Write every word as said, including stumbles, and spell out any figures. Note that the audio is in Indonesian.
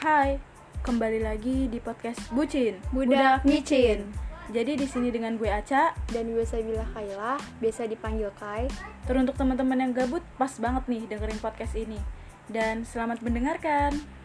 Hai, kembali lagi di podcast Bucin Budak Micin. Jadi di sini dengan gue Aca Dan gue Sabila Kailah, biasa dipanggil Kai. Teruntuk teman-teman yang gabut, pas banget nih dengerin podcast ini. Dan selamat mendengarkan.